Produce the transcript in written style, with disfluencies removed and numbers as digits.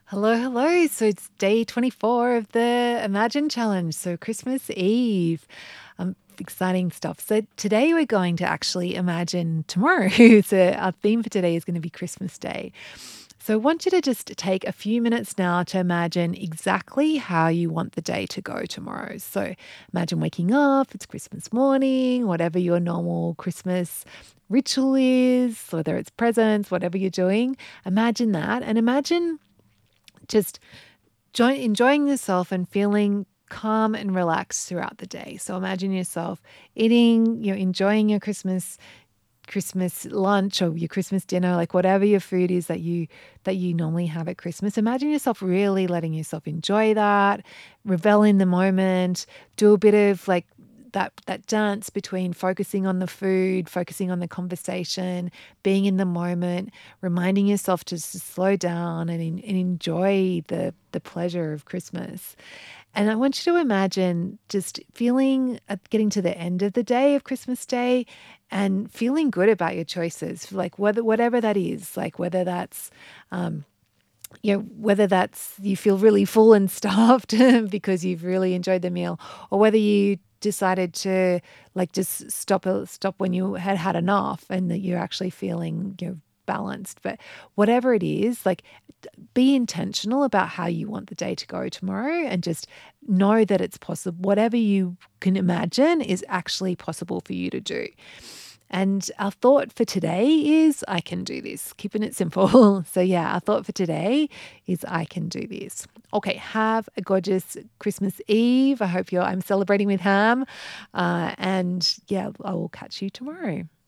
Hello, hello. So it's day 24 of the Imagine Challenge. So Christmas Eve. Exciting stuff. So today we're going to actually imagine tomorrow. So our theme for today is going to be Christmas Day. So I want you to just take a few minutes now to imagine exactly how you want the day to go tomorrow. So imagine waking up, it's Christmas morning, whatever your normal Christmas ritual is, whether it's presents, whatever you're doing, imagine that and imagine just enjoying yourself and feeling calm and relaxed throughout the day. So imagine yourself eating, enjoying your Christmas lunch or your Christmas dinner, like whatever your food is that you normally have at Christmas. Imagine yourself really letting yourself enjoy that, revel in the moment, do a bit of like that dance between focusing on the food, focusing on the conversation, being in the moment, reminding yourself to slow down and enjoy the pleasure of Christmas. And I want you to imagine just feeling getting to the end of the day of Christmas Day and feeling good about your choices, like whatever that is, like um, whether that's you feel really full and stuffed because you've really enjoyed the meal, or whether you decided to like just stop when you had had enough and that you're actually feeling balanced. But whatever it is, like be intentional about how you want the day to go tomorrow and just know that it's possible. Whatever you can imagine is actually possible for you to do. And our thought for today is I can do this, keeping it simple. So, yeah, our thought for today is I can do this. Okay, have a gorgeous Christmas Eve. I'm celebrating with ham. And yeah, I will catch you tomorrow.